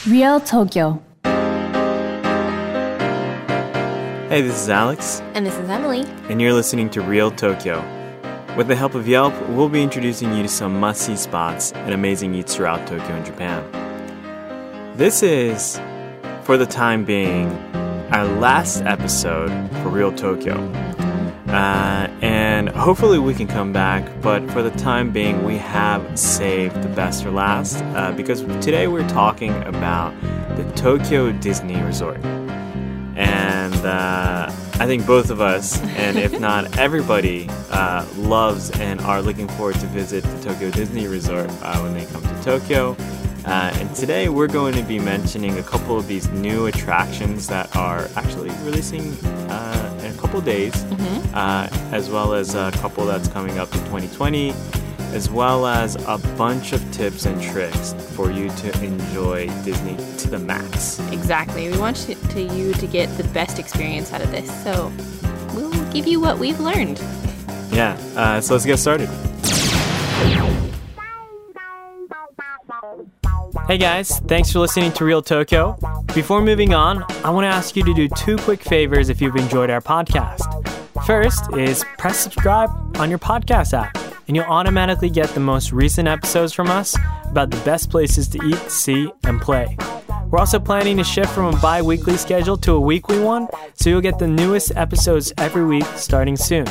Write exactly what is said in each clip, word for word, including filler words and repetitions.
Real Tokyo. Hey, this is Alex. And this is Emily. And you're listening to Real Tokyo. With the help of Yelp, we'll be introducing you to some must-see spots and amazing eats throughout Tokyo and Japan. This is, for the time being, our last episode for Real Tokyo. Uh, and hopefully we can come back, but for the time being, we have saved the best for last, uh, because today we're talking about the Tokyo Disney Resort. And uh, I think both of us, and if not everybody, uh, loves and are looking forward to visit the Tokyo Disney Resort uh, when they come to Tokyo. Uh, and today we're going to be mentioning a couple of these new attractions that are actually releasing uh, in a couple of days, mm-hmm. uh, as well as a couple that's coming up in twenty twenty, as well as a bunch of tips and tricks for you to enjoy Disney to the max. Exactly. We want you to, you to get the best experience out of this, so we'll give you what we've learned. Yeah, uh, so let's get started. Hey guys, thanks for listening to Real Tokyo. Before moving on, I want to ask you to do two quick favors if you've enjoyed our podcast. First is press subscribe on your podcast app, and you'll automatically get the most recent episodes from us about the best places to eat, see, and play. We're also planning to shift from a bi-weekly schedule to a weekly one, so you'll get the newest episodes every week starting soon.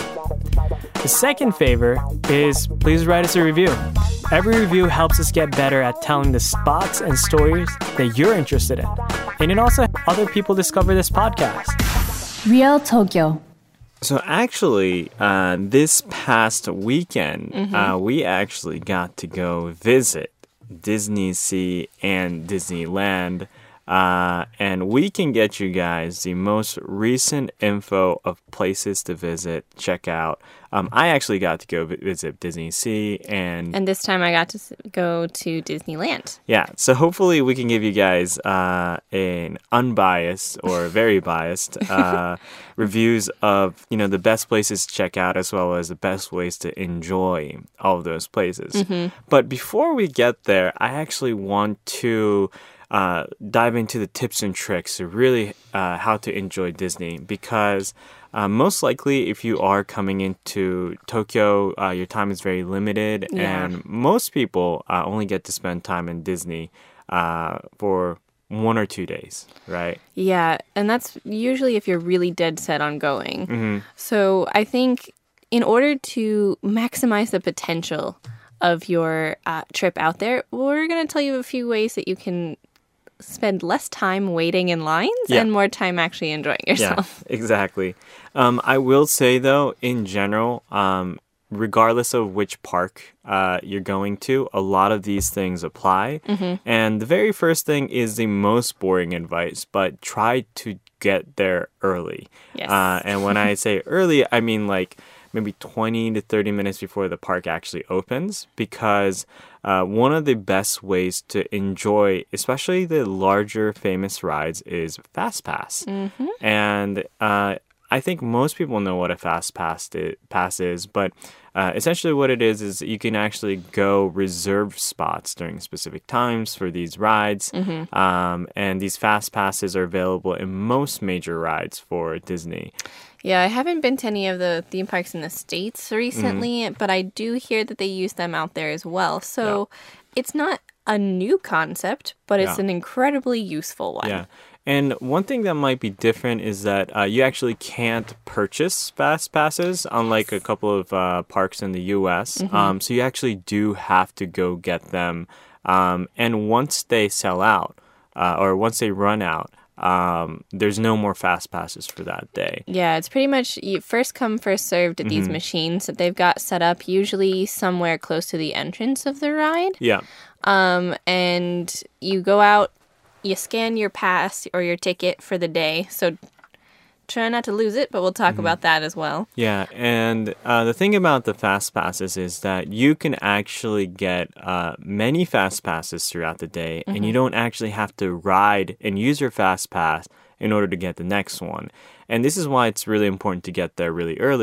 The second favor is please write us a review. Every review helps us get better at telling the spots and stories that you're interested in. And it also helps other people discover this podcast. Real Tokyo. So actually, uh, this past weekend, mm-hmm. uh, we actually got to go visit Disney Sea and Disneyland. Uh, and we can get you guys the most recent info of places to visit, check out. Um, I actually got to go visit Disney Sea and... And this time I got to go to Disneyland. Yeah, so hopefully we can give you guys uh, an unbiased or very biased uh, reviews of, you know, the best places to check out as well as the best ways to enjoy all of those places. Mm-hmm. But before we get there, I actually want to... Uh, dive into the tips and tricks to really uh, how to enjoy Disney, because uh, most likely if you are coming into Tokyo, uh, your time is very limited, yeah. and most people uh, only get to spend time in Disney uh, for one or two days, right? Yeah, and that's usually if you're really dead set on going. Mm-hmm. So I think in order to maximize the potential of your uh, trip out there, we're going to tell you a few ways that you can spend less time waiting in lines yeah. and more time actually enjoying yourself. Yeah, exactly. Um, I will say, though, in general, um, regardless of which park uh, you're going to, a lot of these things apply. Mm-hmm. And the very first thing is the most boring advice, but try to get there early. Yes. Uh, and when I say early, I mean like maybe twenty to thirty minutes before the park actually opens, because uh, one of the best ways to enjoy, especially the larger famous rides, is Fast Pass. Mm-hmm. And uh, I think most people know what a Fast Pass, i- pass is, but uh, essentially what it is is you can actually go reserve spots during specific times for these rides. Mm-hmm. Um, and these Fast Passes are available in most major rides for Disney. Yeah, I haven't been to any of the theme parks in the States recently, mm-hmm. but I do hear that they use them out there as well. So yeah. It's not a new concept, but it's yeah. an incredibly useful one. Yeah. And one thing that might be different is that uh, you actually can't purchase Fast Passes, unlike a couple of uh, parks in the U S. Mm-hmm. Um, so you actually do have to go get them. Um, and once they sell out, uh, or once they run out, Um, there's no more Fast Passes for that day. Yeah, it's pretty much you first come, first served at these mm-hmm. machines that they've got set up, usually somewhere close to the entrance of the ride. Yeah. Um, and you go out, you scan your pass or your ticket for the day. So try not to lose it, but we'll talk mm-hmm. about that as well. Yeah, and uh, the thing about the Fast Passes is that you can actually get uh, many Fast Passes throughout the day, mm-hmm. and you don't actually have to ride and use your Fast Pass in order to get the next one. And this is why it's really important to get there really early,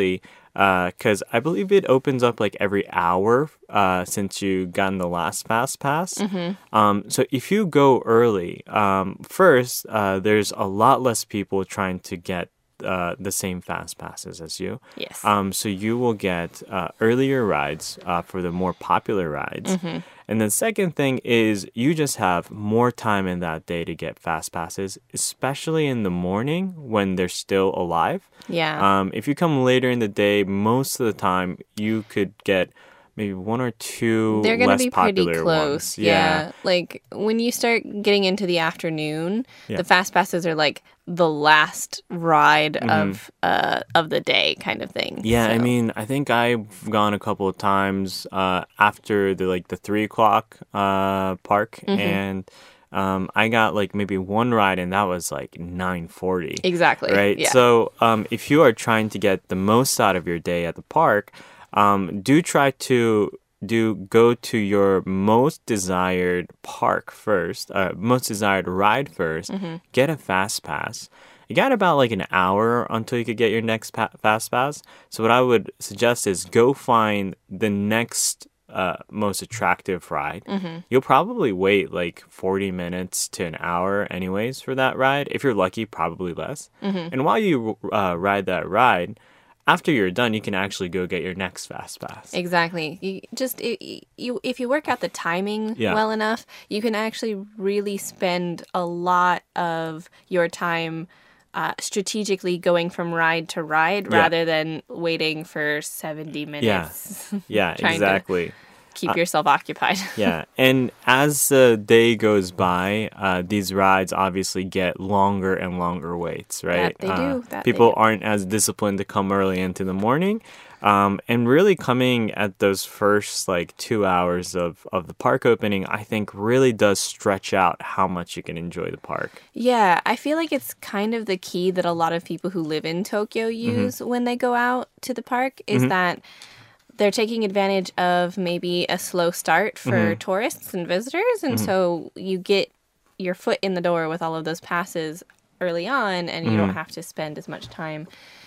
Because I believe it opens up like every hour uh, since you gotten the last fast pass. Mm-hmm. Um, so if you go early, um, first uh, there's a lot less people trying to get uh, the same fast passes as you. Yes. Um, so you will get uh, earlier rides uh, for the more popular rides. Mm-hmm. And the second thing is you just have more time in that day to get fast passes, especially in the morning when they're still alive. Yeah. Um, if you come later in the day, most of the time you could get maybe one or two They're going to less be pretty popular close. ones. Yeah. Like when you start getting into the afternoon, Yeah. the fast passes are like the last ride of uh of the day kind of thing. Mm-hmm. Yeah, I So- mean, I think I've gone a couple of times uh, after the like the three o'clock uh, park, Mm-hmm. and um, I got like maybe one ride, and that was like nine forty. Exactly. Right. Yeah. So um, if you are trying to get the most out of your day at the park, um, do try to do go to your most desired park first, uh, most desired ride 1st Mm-hmm. Get a fast pass. You got about like an hour until you could get your next pa- fast pass. So what I would suggest is go find the next uh, most attractive ride. Mm-hmm. You'll probably wait like forty minutes to an hour anyways for that ride. If you're lucky, probably less. Mm-hmm. And while you uh, ride that ride, after you're done, you can actually go get your next fast pass. Exactly. You just i you if you work out the timing Yeah. well enough, you can actually really spend a lot of your time uh, strategically going from ride to ride Yeah. rather than waiting for seventy minutes. Yeah, Trying to- exactly. Keep yourself occupied. Yeah, and as the day goes by, uh, these rides obviously get longer and longer waits, right? That they Uh, do, that they people do. aren't as disciplined to come early into the morning. Um, and really coming at those first like two hours of, of the park opening, I think really does stretch out how much you can enjoy the park. Yeah, I feel like it's kind of the key that a lot of people who live in Tokyo Mm-hmm. use when they go out to the park is that they're taking advantage of maybe a slow start for Mm-hmm. tourists and visitors. And so you get your foot in the door with all of those passes early on, and you Mm-hmm. don't have to spend as much time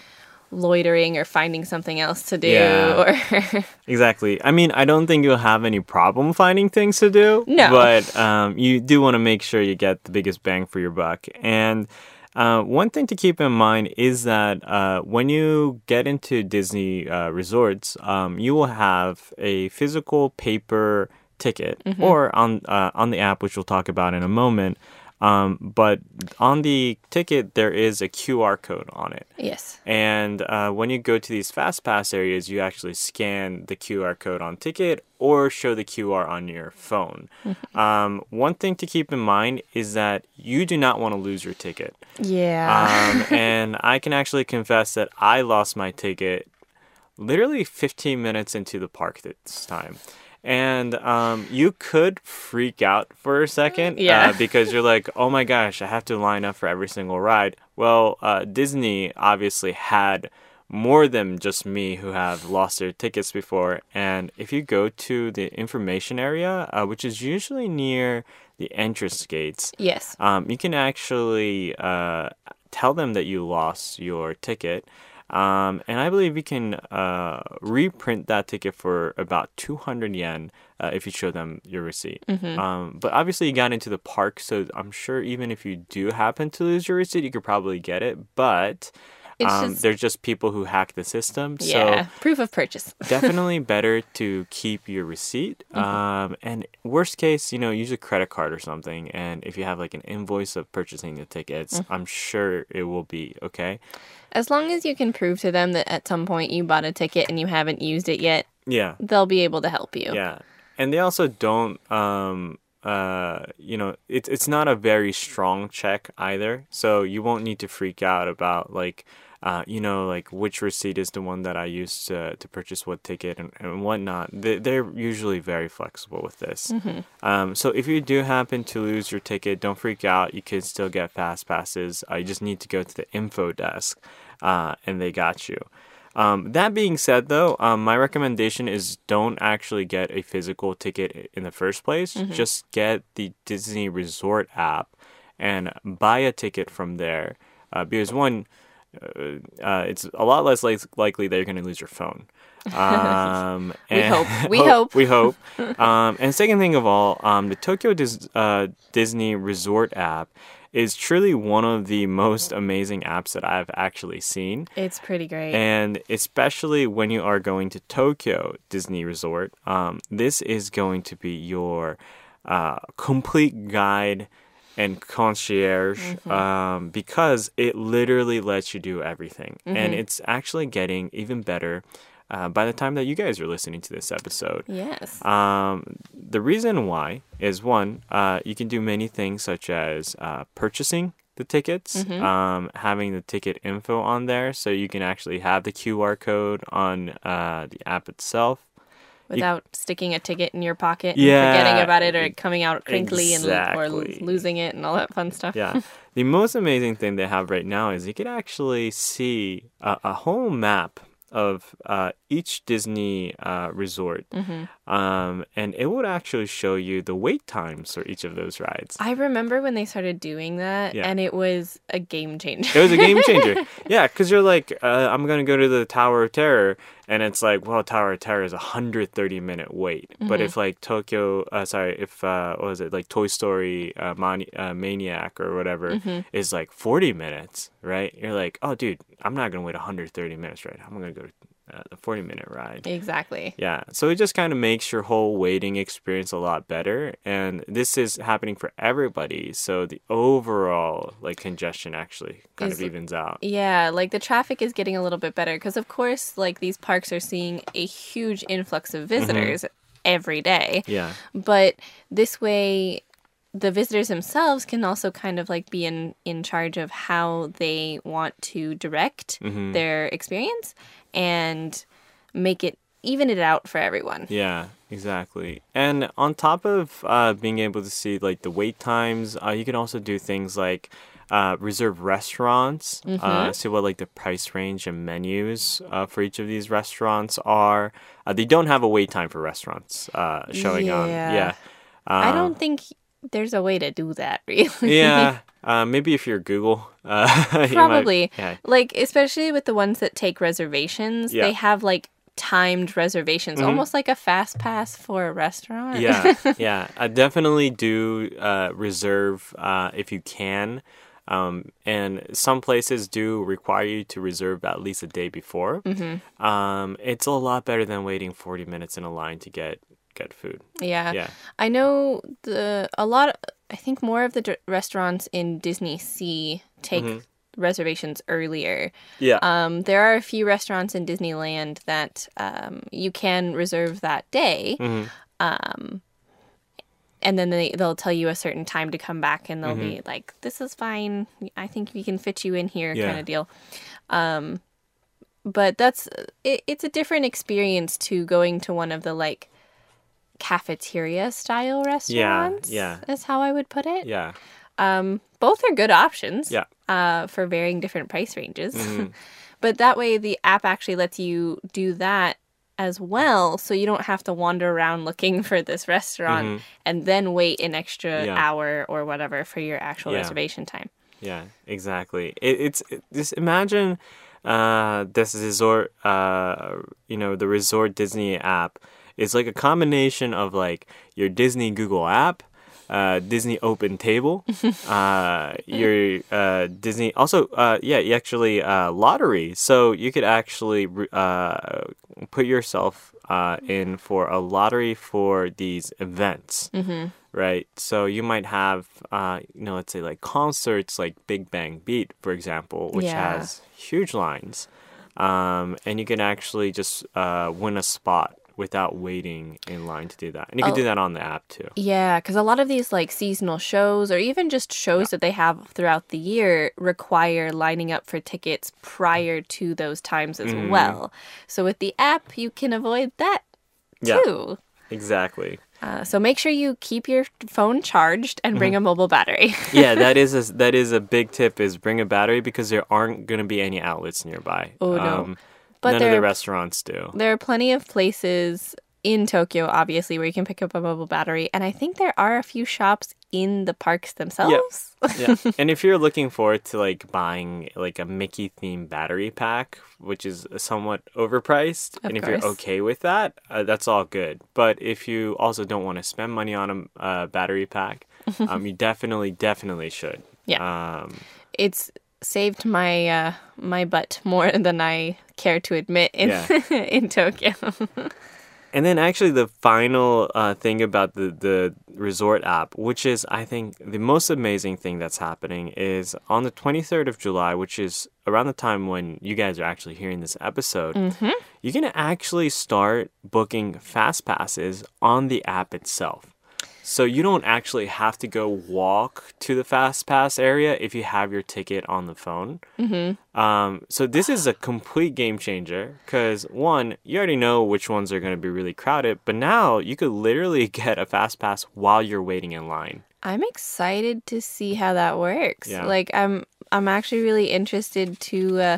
loitering or finding something else to do. Yeah. Or Exactly. I mean, I don't think you'll have any problem finding things to do. No. But um, you do want to make sure you get the biggest bang for your buck. And uh, one thing to keep in mind is that uh, when you get into Disney uh, resorts, um, you will have a physical paper ticket or on uh, on the app, which we'll talk about in a moment. Um, but on the ticket, there is a Q R code on it. yes. And uh, when you go to these fast pass areas, you actually scan the Q R code on ticket or show the Q R on your phone. Um, one thing to keep in mind is that you do not want to lose your ticket. Yeah. Um, and I can actually confess that I lost my ticket literally fifteen minutes into the park this time. And um, you could freak out for a second Yeah. uh, because you're like, oh my gosh, I have to line up for every single ride. Well, uh, Disney obviously had more than just me who have lost their tickets before. And if you go to the information area, uh, which is usually near the entrance gates, yes. um, you can actually uh, tell them that you lost your ticket. Um, and I believe you can uh, reprint that ticket for about two hundred yen uh, if you show them your receipt. Mm-hmm. Um, but obviously, you got into the park, so I'm sure even if you do happen to lose your receipt, you could probably get it. But It's um, just- there's just people who hack the system. Yeah. So Proof of purchase. definitely better to keep your receipt. Um, and worst case, you know, use a credit card or something. And if you have like an invoice of purchasing the tickets, I'm sure it will be okay. As long as you can prove to them that at some point you bought a ticket and you haven't used it yet, Yeah. they'll be able to help you. Yeah. And they also don't, um, uh, you know, it's it's not a very strong check either. So you won't need to freak out about like, uh, you know, like which receipt is the one that I used to, to purchase what ticket and, and whatnot. They, they're usually very flexible with this. Um, so if you do happen to lose your ticket, don't freak out. You can still get fast passes. Uh, you just need to go to the info desk, uh, and they got you. Um, that being said, though, um, my recommendation is don't actually get a physical ticket in the first place. Just get the Disney Resort app and buy a ticket from there. Uh, because one, uh, uh, it's a lot less like, likely that you're going to lose your phone. Um, We and- hope. We hope. We hope. Um, and second thing of all, um, the Tokyo Dis- uh, Disney Resort app is truly one of the most amazing apps that I've actually seen. It's pretty great. And especially when you are going to Tokyo Disney Resort, um, this is going to be your uh, complete guide and concierge Mm-hmm. um, because it literally lets you do everything. Mm-hmm. And it's actually getting even better uh, by the time that you guys are listening to this episode. Yes. Um, the reason why is one, uh, you can do many things such as uh, purchasing the tickets, Mm-hmm. um, having the ticket info on there, so you can actually have the Q R code on uh, the app itself. Without sticking a ticket in your pocket Yeah, and forgetting about it or e- it coming out crinkly and or exactly. lo- losing it and all that fun stuff. Yeah. The most amazing thing they have right now is you can actually see a, a whole map of uh, each Disney uh, resort. Mm-hmm. Um, and it would actually show you the wait times for each of those rides. I remember when they started doing that, Yeah. and it was a game changer. It was a game changer. Yeah, because you're like, uh, I'm going to go to the Tower of Terror. And it's like, well, Tower of Terror is a one hundred thirty minute wait. But if like Tokyo, uh, sorry, if, uh, what was it, like Toy Story uh, Mani- uh, Maniac or whatever is like forty minutes, right? You're like, oh, dude, I'm not going to wait one hundred thirty minutes, right? I'm going to go to uh, the forty minute ride. Exactly. Yeah, so it just kind of makes your whole waiting experience a lot better, and this is happening for everybody. So the overall like congestion actually kind Is- of evens out. Yeah, like the traffic is getting a little bit better because, of course, like these parks are seeing a huge influx of visitors every day. Yeah, But this way, the visitors themselves can also kind of like be in, in charge of how they want to direct their experience and make it even it out for everyone. yeah, exactly. And on top of uh, being able to see like the wait times, uh, you can also do things like uh, reserve restaurants, uh, see what like the price range and menus uh, for each of these restaurants are. Uh, they don't have a wait time for restaurants uh, showing on. Yeah. Yeah. I Uh, don't think there's a way to do that, really. yeah, uh, maybe if you're Google, uh, you might- Probably. yeah, Like, especially with the ones that take reservations, Yeah. they have like timed reservations, almost like a fast pass for a restaurant. yeah, yeah. I definitely do uh, reserve uh, if you can, um, and some places do require you to reserve at least a day before. Mm-hmm. Um, it's a lot better than waiting forty minutes in a line to get get food. Yeah. Yeah. I know the a lot I think more of the d- restaurants in Disney Sea take reservations earlier. Yeah. Um, there are a few restaurants in Disneyland that um, you can reserve that day. Um, and then they, they'll tell you a certain time to come back and they'll be like, this is fine. I think we can fit you in here Yeah. kind of deal. Um, but that's, it, it's a different experience to going to one of the like cafeteria style restaurants. yeah. Is how I would put it. yeah. Um, both are good options. Yeah. Uh, for varying different price ranges. But that way, the app actually lets you do that as well, so you don't have to wander around looking for this restaurant and then wait an extra Yeah. hour or whatever for your actual Yeah. reservation time. Yeah, exactly. It, it's it, just imagine uh, this resort, uh, you know, the Resort Disney app is like a combination of like your Disney Google app, uh, Disney Open Table, uh, your uh, Disney also, uh, yeah, you actually uh, lottery. So you could actually uh, put yourself uh, in for a lottery for these events. Mm-hmm. Right, so you might have, uh, you know, let's say like concerts like Big Bang Beat, for example, which Yeah. has huge lines, um, and you can actually just uh, win a spot without waiting in line to do that, and you can Oh. do that on the app too. Yeah, because a lot of these like seasonal shows or even just shows that they have throughout the year require lining up for tickets prior to those times as Mm-hmm. well. So with the app, you can avoid that Yeah. too. Exactly. Uh, so make sure you keep your phone charged and bring a mobile battery. Yeah, that is a, that is a big tip. Is bring a battery because there aren't going to be any outlets nearby. Oh, no. Um, But none of there the are- restaurants do. There are plenty of places in Tokyo, obviously, where you can pick up a mobile battery. And I think there are a few shops in the parks themselves. Yeah. And if you're looking forward to like buying like a Mickey themed battery pack, which is somewhat overpriced, Of and if course. you're okay with that, uh, that's all good. But if you also don't want to spend money on a uh, battery pack, um, you definitely, definitely should. Yeah. Um, It's saved my uh, my butt more than I care to admit in Yeah. in Tokyo. And then actually the final uh, thing about the, the resort app, which is, I think, the most amazing thing that's happening is on the twenty-third of July, which is around the time when you guys are actually hearing this episode, you can actually start booking fast passes on the app itself. So you don't actually have to go walk to the fast pass area if you have your ticket on the phone. Mm-hmm. Um, so this is a complete game changer because one, you already know which ones are going to be really crowded, but now you could literally get a fast pass while you're waiting in line. I'm excited to see how that works. Yeah. Like I'm I'm actually really interested to uh,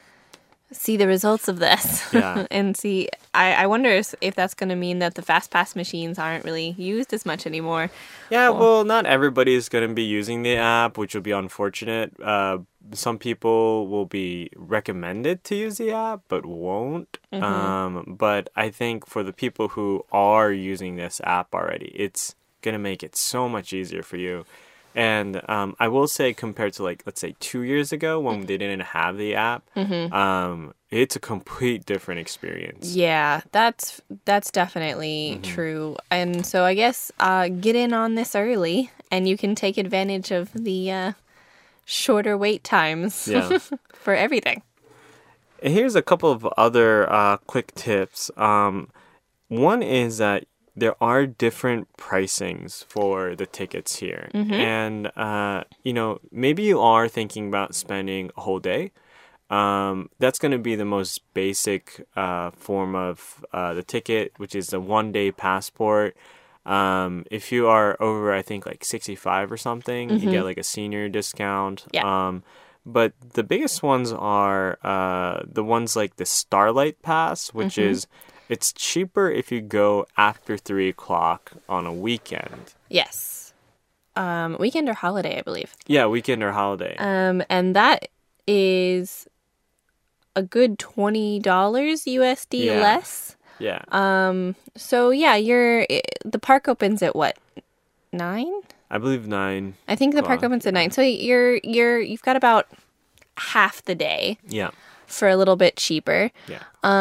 see the results of this. Yeah. And see I, I wonder if if that's going to mean that the fast pass machines aren't really used as much anymore. Yeah, well, not everybody is going to be using the app, which will be unfortunate. Uh, some people will be recommended to use the app, but won't. Um, but I think for the people who are using this app already, it's going to make it so much easier for you. And um, I will say, compared to like, let's say two years ago when they didn't have the app, um, it's a complete different experience. Yeah, that's that's definitely true. And so I guess uh, get in on this early, and you can take advantage of the uh, shorter wait times Yeah. for everything. And here's a couple of other uh, quick tips. Um, one is that there are different pricings for the tickets here. And, uh, you know, maybe you are thinking about spending a whole day. Um, that's going to be the most basic uh, form of uh, the ticket, which is the one-day passport. Um, if you are over, I think, like sixty-five or something, you get like a senior discount. Yeah. Um, but the biggest ones are uh, the ones like the Starlight Pass, which is it's cheaper if you go after three o'clock on a weekend. Yes. Um, weekend or holiday, I believe. Yeah, weekend or holiday. Um, and that is a good twenty dollars U S D Yeah. less. yeah. Um, so yeah, you're the park opens at what? nine? I believe nine. I think the park Well, opens at nine. So you're you're you've got about half the day Yeah. for a little bit cheaper. Yeah.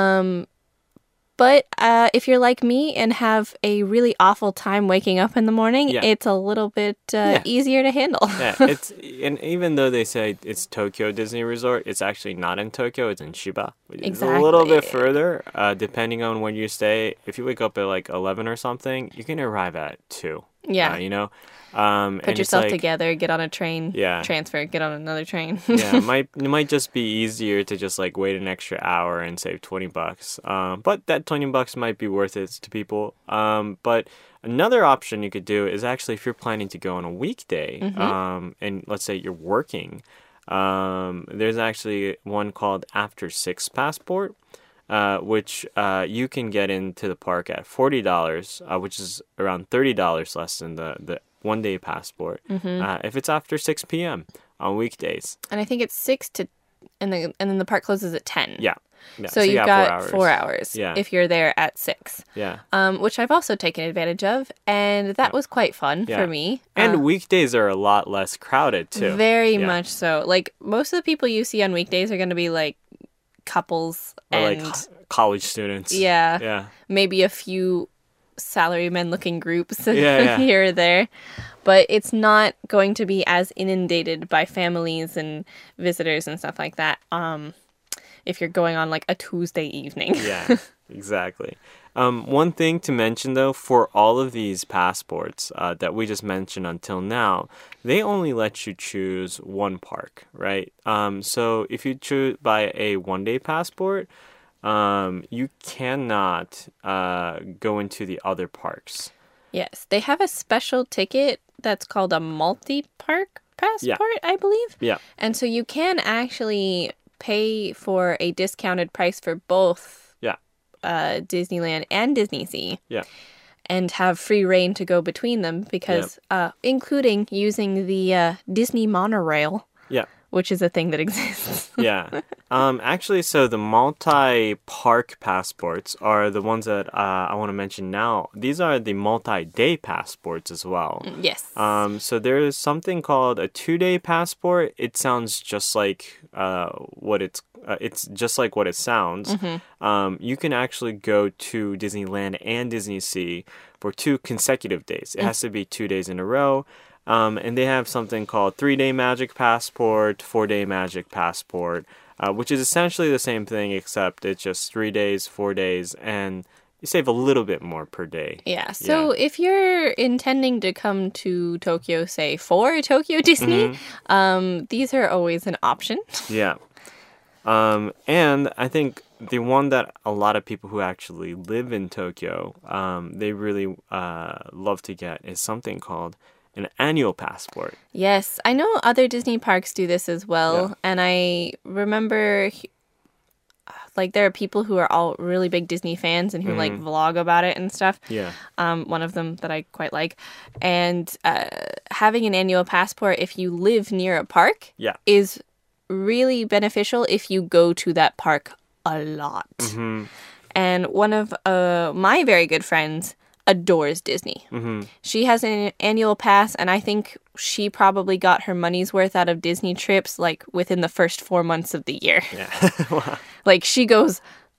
But uh, if you're like me and have a really awful time waking up in the morning, Yeah. it's a little bit uh, Yeah. easier to handle. Yeah, it's and even though they say it's Tokyo Disney Resort, it's actually not in Tokyo. It's in Shiba. It's a little bit Exactly. further, uh, depending on when you stay. If you wake up at like eleven or something, you can arrive at two. Yeah. uh, you know. Um, Put and it's yourself like, together, get on a train, Yeah. transfer, get on another train. Yeah, it might it might just be easier to just like wait an extra hour and save twenty bucks. Um, but that twenty bucks might be worth it to people. Um, but another option you could do is actually if you're planning to go on a weekday, um, and let's say you're working, um, there's actually one called After Six Passport. Uh, which uh, you can get into the park at forty dollars, uh, which is around thirty dollars less than the, the one day passport, uh, if it's after six p.m. on weekdays. And I think it's six to, and the and then the park closes at ten. Yeah. yeah. So, you you've got got four hours, Yeah. if you're there at six, Yeah. um, which I've also taken advantage of, and that was quite fun Yeah. for me. And Uh, weekdays are a lot less crowded, too. very Yeah. much so. Like most of the people you see on weekdays are going to be like couples Or and like co- college students. yeah, Yeah. maybe a few salarymen looking groups Yeah, yeah. here or there. But it's not going to be as inundated by families and visitors and stuff like that. Um, if you're going on like a Tuesday evening. Yeah, exactly. Um, one thing to mention, though, for all of these passports uh, that we just mentioned until now, they only let you choose one park, right? Um, so if you choose by a one-day passport, um, you cannot uh, go into the other parks. Yes, they have a special ticket that's called a multi-park passport, I believe. Yeah. And so you can actually pay for a discounted price for both Yeah. uh, Disneyland and Disney Sea. Yeah. And have free reign to go between them because, uh, including using the uh, Disney monorail, Yeah. which is a thing that exists. Yeah. Um, actually, so the multi-park passports are the ones that uh, I want to mention now. These are the multi-day passports as well. Yes. Um, so there is something called a two-day passport. It sounds just like uh, what it's. Uh, it's just like what it sounds. Mm-hmm. Um, you can actually go to Disneyland and Disney Sea for two consecutive days. It Mm. has to be two days in a row. Um, and they have something called three-day Magic Passport, four-day Magic Passport, uh, which is essentially the same thing, except it's just three days, four days, and you save a little bit more per day. Yeah. So if you're intending to come to Tokyo, say, for Tokyo Disney, Mm-hmm. um, these are always an option. Yeah. Um, and I think the one that a lot of people who actually live in Tokyo, um, they really uh, love to get is something called an annual passport. Yes. I know other Disney parks do this as well. Yeah. And I remember, like, there are people who are all really big Disney fans and who, like, vlog about it and stuff. Yeah. Um, one of them that I quite like. And uh, having an annual passport, if you live near a park, Yeah. is really beneficial if you go to that park a lot. Mm-hmm. And one of uh, my very good friends adores Disney. Mm-hmm. She has an annual pass, and I think she probably got her money's worth out of Disney trips like within the first four months of the year. Yeah. Wow. Like, she goes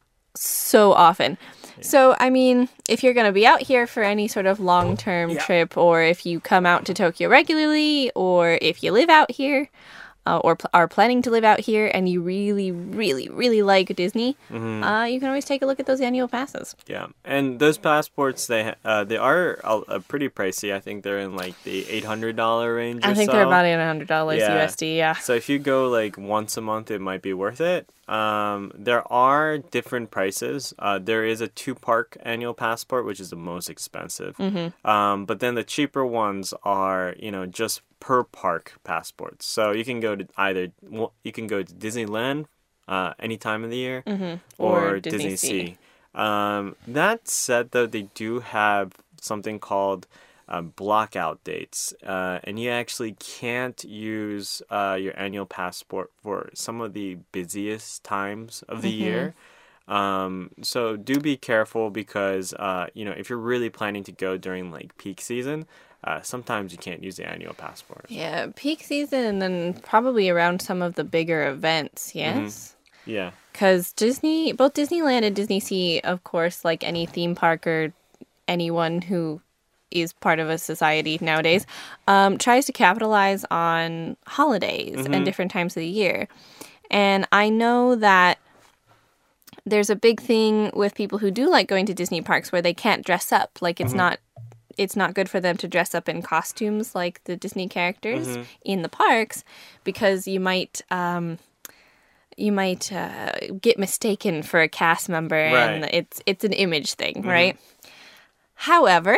so often. So, I mean, if you're going to be out here for any sort of long-term Yeah. trip, or if you come out to Tokyo regularly, or if you live out here, uh, or pl- are planning to live out here, and you really, really, really like Disney, Mm-hmm. uh, you can always take a look at those annual passes. Yeah, and those passports they ha- uh, they are a, a pretty pricey. I think they're in like the eight hundred dollar range. I or think so. they're about eight hundred dollars Yeah. U S D, yeah. So if you go like once a month, it might be worth it. Um, there are different prices. Uh, there is a two park annual passport, which is the most expensive. Mm-hmm. Um, but then the cheaper ones are, you know, just per park passports. So you can go to either well, you can go to Disneyland uh, any time of the year, Mm-hmm. or, Or Disney Disney Sea. Sea. Um, that said, though, they do have something called uh, blockout dates, uh, and you actually can't use uh, your annual passport for some of the busiest times of the Mm-hmm. year. Um, so do be careful because uh, you know, if you're really planning to go during like peak season, uh, sometimes you can't use the annual passport. Yeah, peak season and then probably around some of the bigger events, yes? Yeah. Because Disney, both Disneyland and Disney Sea, of course, like any theme park or anyone who is part of a society nowadays, um, tries to capitalize on holidays and different times of the year. And I know that there's a big thing with people who do like going to Disney parks where they can't dress up. Like, it's not it's not good for them to dress up in costumes like the Disney characters in the parks, because you might um, you might uh, get mistaken for a cast member, and Right. it's it's an image thing, right? However,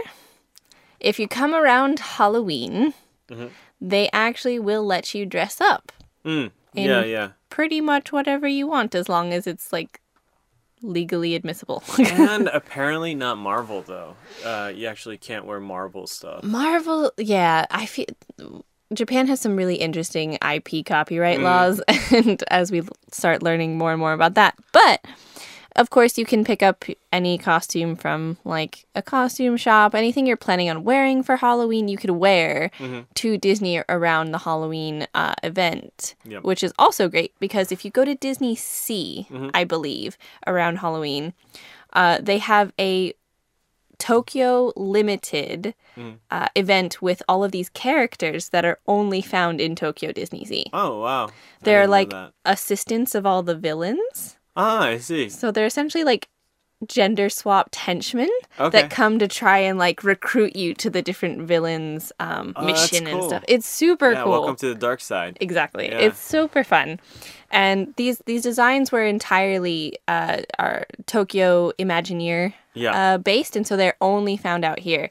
if you come around Halloween, they actually will let you dress up Mm. In- Yeah, yeah. pretty much whatever you want, as long as it's like legally admissible. And apparently not Marvel though. Uh, you actually can't wear Marvel stuff. Marvel, yeah, I feel Japan has some really interesting I P copyright laws, and as we start learning more and more about that, but of course you can pick up any costume from like a costume shop. Anything you're planning on wearing for Halloween, you could wear to Disney around the Halloween uh, event, Yep. which is also great because if you go to Disney Sea, I believe, around Halloween, uh, they have a Tokyo Limited uh, event with all of these characters that are only found in Tokyo Disney Sea. Oh wow. I They're didn't know like that. assistants of all the villains. Ah, I see. So they're essentially like gender swapped henchmen Okay. that come to try and like recruit you to the different villains um, Oh, that's mission and cool. stuff. It's super Yeah, cool. welcome to the dark side. Exactly. Yeah. It's super fun. And these these designs were entirely uh, are Tokyo Imagineer Yeah. uh, based, and so they're only found out here.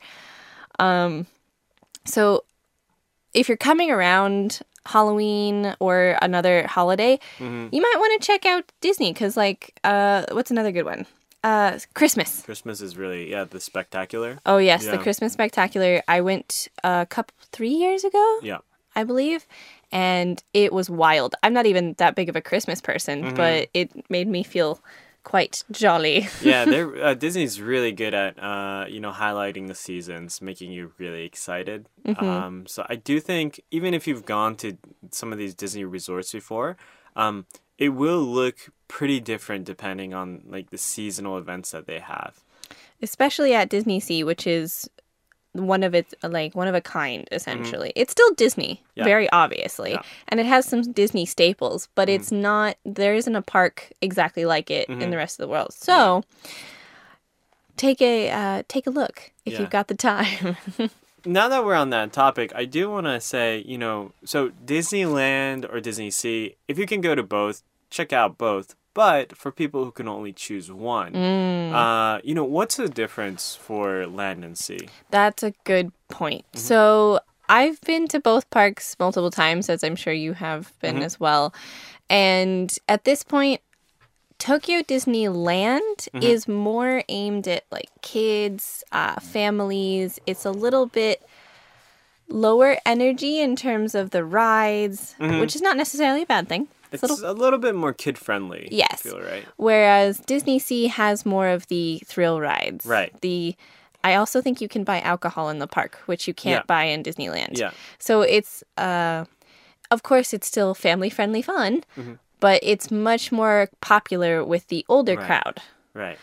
Um, so if you're coming around Halloween or another holiday, Mm-hmm. you might want to check out Disney because, like, uh, what's another good one? Uh, Christmas. Christmas is really, yeah, the spectacular. Oh yes, Yeah. the Christmas Spectacular. I went a couple three years ago, Yeah. I believe, and it was wild. I'm not even that big of a Christmas person, Mm-hmm. but it made me feel quite jolly. Yeah, they're uh, Disney's really good at uh, you know, highlighting the seasons, making you really excited. Mm-hmm. Um, so I do think even if you've gone to some of these Disney resorts before, um, it will look pretty different depending on like the seasonal events that they have. Especially at Disney Sea, which is one of its like one of a kind essentially. It's still Disney, Yeah. very obviously, Yeah. and it has some Disney staples, but it's not. There isn't a park exactly like it in the rest of the world. So take a uh, take a look if Yeah. you've got the time. Now that we're on that topic, I do want to say, you know, so Disneyland or Disney Sea, if you can go to both, check out both. But for people who can only choose one, Mm. uh, you know, what's the difference for land and sea? That's a good point. Mm-hmm. So I've been to both parks multiple times, as I'm sure you have been Mm-hmm. as well. And at this point, Tokyo Disneyland Mm-hmm. is more aimed at like kids, uh, families. It's a little bit lower energy in terms of the rides, which is not necessarily a bad thing. It's a little a little bit more kid friendly. Yes. I feel, right? Whereas Disney Sea has more of the thrill rides. Right. The I also think you can buy alcohol in the park, which you can't Yeah. buy in Disneyland. Yeah. So it's uh of course it's still family friendly fun, Mm-hmm. but it's much more popular with the older Right. crowd. Right.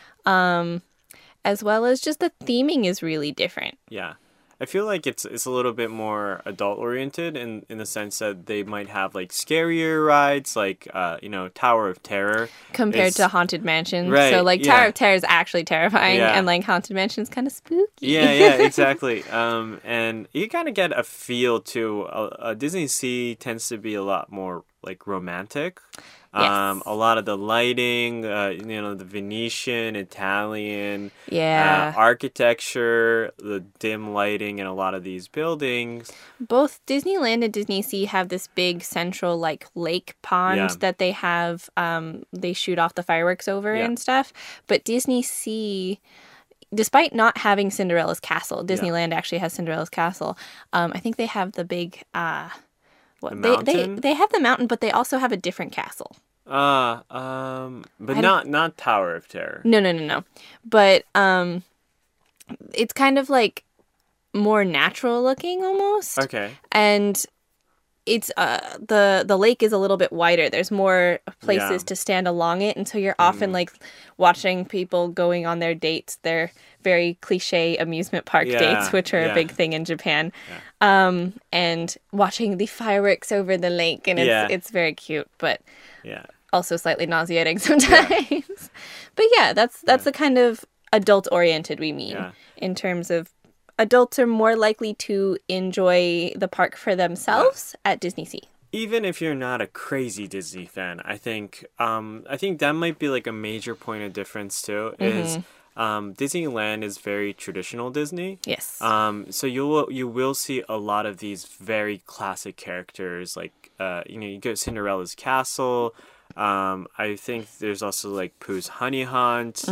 As well as just the theming is really different. Yeah. I feel like it's it's a little bit more adult oriented in, in the sense that they might have like scarier rides, like uh, you know, Tower of Terror. Compared is- to Haunted Mansion. Right, So like yeah. Tower of Terror is actually terrifying Yeah. and like Haunted Mansion is kind of spooky. Yeah, yeah, exactly. Um, and you kind of get a feel to uh, uh, Disney Sea tends to be a lot more like romantic. Um, Yes. a lot of the lighting, uh, you know, the Venetian, Italian, Yeah. uh, architecture, the dim lighting in a lot of these buildings. Both Disneyland and Disney Sea have this big central like lake pond Yeah. that they have um they shoot off the fireworks over Yeah. and stuff. But Disney Sea, despite not having Cinderella's castle, Disneyland actually has Cinderella's castle. Um I think they have the big uh what The they, they mountain? they have the mountain, but they also have a different castle. Uh, um, but I not not Tower of Terror. No, no, no, no. But um it's kind of like more natural looking almost. Okay. And it's uh the the lake is a little bit wider. There's more places Yeah. to stand along it, and so you're often like watching people going on their dates, their very cliche amusement park Yeah, dates, which are yeah. a big thing in Japan. Um, and watching the fireworks over the lake, and it's Yeah. it's very cute, but Yeah. also slightly nauseating sometimes. But yeah, that's that's the kind of adult oriented we mean Yeah. in terms of adults are more likely to enjoy the park for themselves at Disney Sea. Even if you're not a crazy Disney fan, I think um, I think that might be like a major point of difference too. Is um, Disneyland is very traditional Disney. Yes. Um, so you will you will see a lot of these very classic characters, like uh, you know, you go Cinderella's castle. Um, I think there's also like Pooh's Honey Hunt.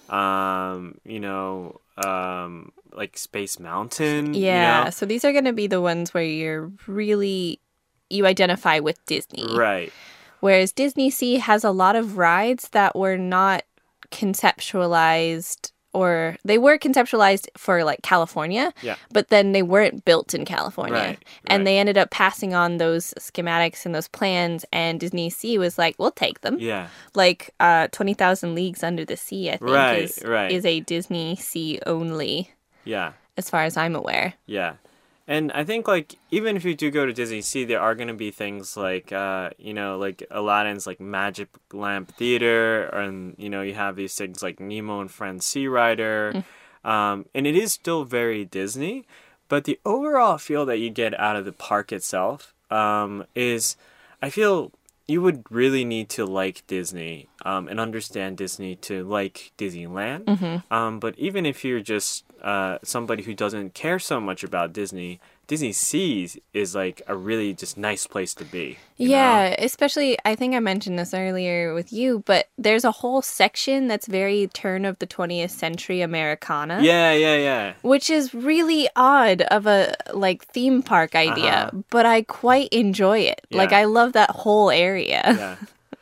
Um, you know, um, like Space Mountain. you yeah. know? So these are going to be the ones where you're really you identify with Disney. Right. Whereas Disney Sea has a lot of rides that were not conceptualized, or they were conceptualized for like California, Yeah. but then they weren't built in California. Right, And right. they ended up passing on those schematics and those plans, and Disney Sea was like, we'll take them. Yeah. Like uh, twenty thousand Leagues Under the Sea, I think, Right, is, right. is a Disney Sea only, Yeah. as far as I'm aware. Yeah. And I think, like, even if you do go to Disney Sea, there are going to be things like, uh, you know, like Aladdin's, like, Magic Lamp Theater, and, you know, you have these things like Nemo and Friends Sea Rider. Um, and it is still very Disney, but the overall feel that you get out of the park itself um, is, I feel you would really need to like Disney um, and understand Disney to like Disneyland. Um, but even if you're just uh, somebody who doesn't care so much about Disney, Disney Seas is like a really just nice place to be. you know? Yeah, especially, I think I mentioned this earlier with you, but there's a whole section that's very turn of the twentieth century Americana. Yeah, yeah, yeah. Which is really odd of a like theme park idea, Uh-huh. but I quite enjoy it. Like Yeah. I love that whole area. Yeah.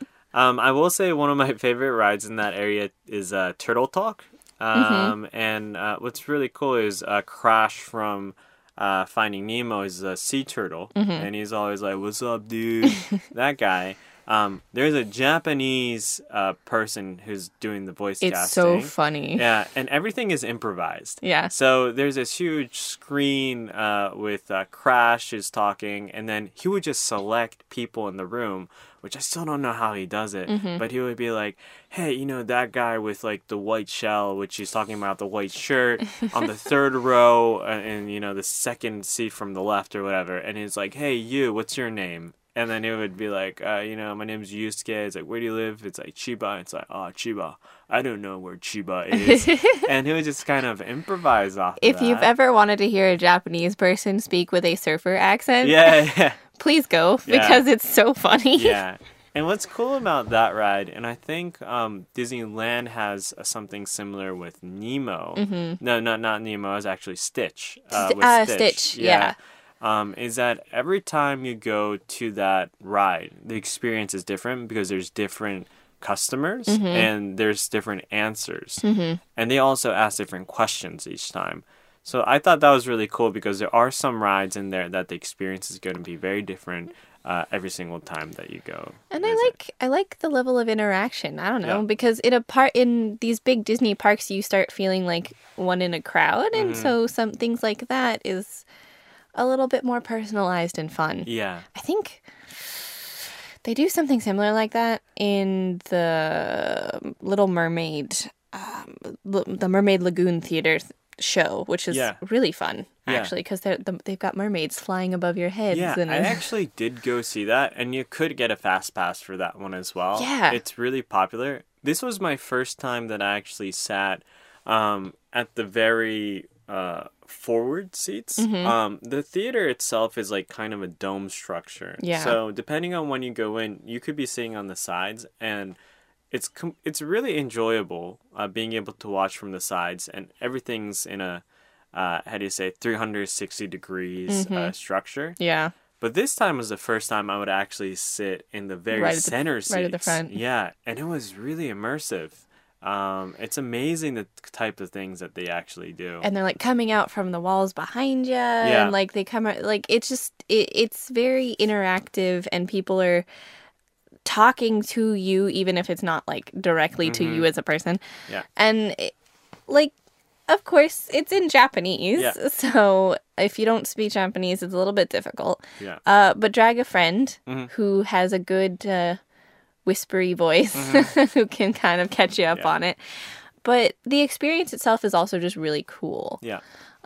Um, I will say one of my favorite rides in that area is uh, Turtle Talk. Um, And uh, what's really cool is uh, Crash from uh, Finding Nemo is a sea turtle. And he's always like, "What's up, dude?" That guy. Um, there's a Japanese uh, person who's doing the voice It's casting. so funny. Yeah, and everything is improvised. Yeah. So there's this huge screen uh, with uh, Crash is talking, and then he would just select people in the room, which I still don't know how he does it. Mm-hmm. But he would be like, "Hey, you know that guy with like the white shell, which he's talking about the white shirt on the third row, uh, and you know the second seat from the left or whatever." And he's like, "Hey, you, what's your name?" And then it would be like, uh, you know, "My name's Yusuke." It's like, "Where do you live?" It's like, "Chiba." It's like, "Oh, Chiba. I don't know where Chiba is." And he would just kind of improvise off of If you've that. ever wanted to hear a Japanese person speak with a surfer accent, Yeah, yeah, please go Yeah. because it's so funny. yeah. And what's cool about that ride, and I think um, Disneyland has uh, something similar with Nemo. No, not not Nemo. It's actually Stitch. Uh, Sti- with uh, Stitch, yeah. Um, is that every time you go to that ride, the experience is different because there's different customers and there's different answers. And they also ask different questions each time. So I thought that was really cool because there are some rides in there that the experience is going to be very different uh, every single time that you go. And I visit. like I like the level of interaction. I don't know Yeah. because in a part in these big Disney parks, you start feeling like one in a crowd, and Mm-hmm. so some things like that is a little bit more personalized and fun. Yeah. I think they do something similar like that in the Little Mermaid, um, L- the Mermaid Lagoon Theater th- show, which is Yeah. really fun Yeah. actually because they're the, they've got mermaids flying above your heads. Yeah, and I actually did go see that, and you could get a fast pass for that one as well. Yeah. It's really popular. This was my first time that I actually sat um, at the very uh, forward seats. Mm-hmm. Um, the theater itself is like kind of a dome structure. Yeah. So depending on when you go in, you could be sitting on the sides, and it's com- it's really enjoyable uh, being able to watch from the sides, and everything's in a uh, how do you say three hundred sixty degrees Mm-hmm. uh, structure. yeah. But this time was the first time I would actually sit in the very Right at the- center seats. right at the front. Yeah, and it was really immersive. Um, it's amazing the type of things that they actually do. And they're like coming out from the walls behind you, and like they come out like it's just it, it's very interactive, and people are talking to you even if it's not like directly to you as a person. Mm-hmm. Yeah. And it, like of course it's in Japanese, Yeah. so if you don't speak Japanese it's a little bit difficult. Yeah. Uh, but drag a friend Mm-hmm. who has a good uh, whispery voice who can kind of catch you up Mm-hmm. Yeah. on it. But the experience itself is also just really cool Yeah.